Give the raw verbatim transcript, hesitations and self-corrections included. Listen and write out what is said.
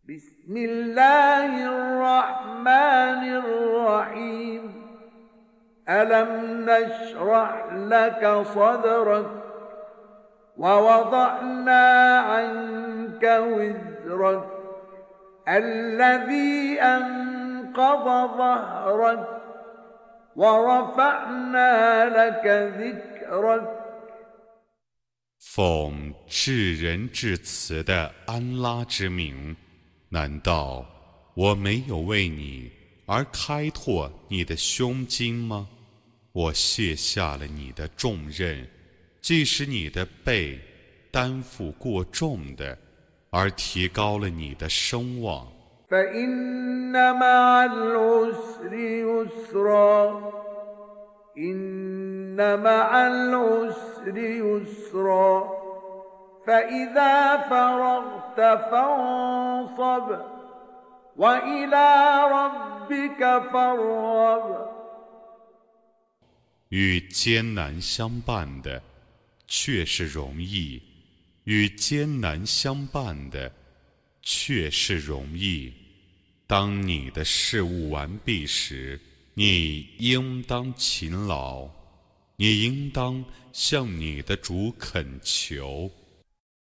بسم الله الرحمن الرحيم ألم نشرح لك صدرك ووضعنا عنك وزرك الذي أنقض ظهرك ورفعنا لك ذكرك 奉至仁至慈的安拉之名，难道我没有为你而开拓你的胸襟吗？我卸下了你的重任，即使你的背担负过重的，而提高了你的声望。 فإن مع العسر يسرا إن مع العسر يسرا فإذا فرغت فانصب وإلى ربك فارغب 与艰难相伴的却是容易，与艰难相伴的却是容易。当你的事务完毕时，你应当勤劳，你应当向你的主恳求。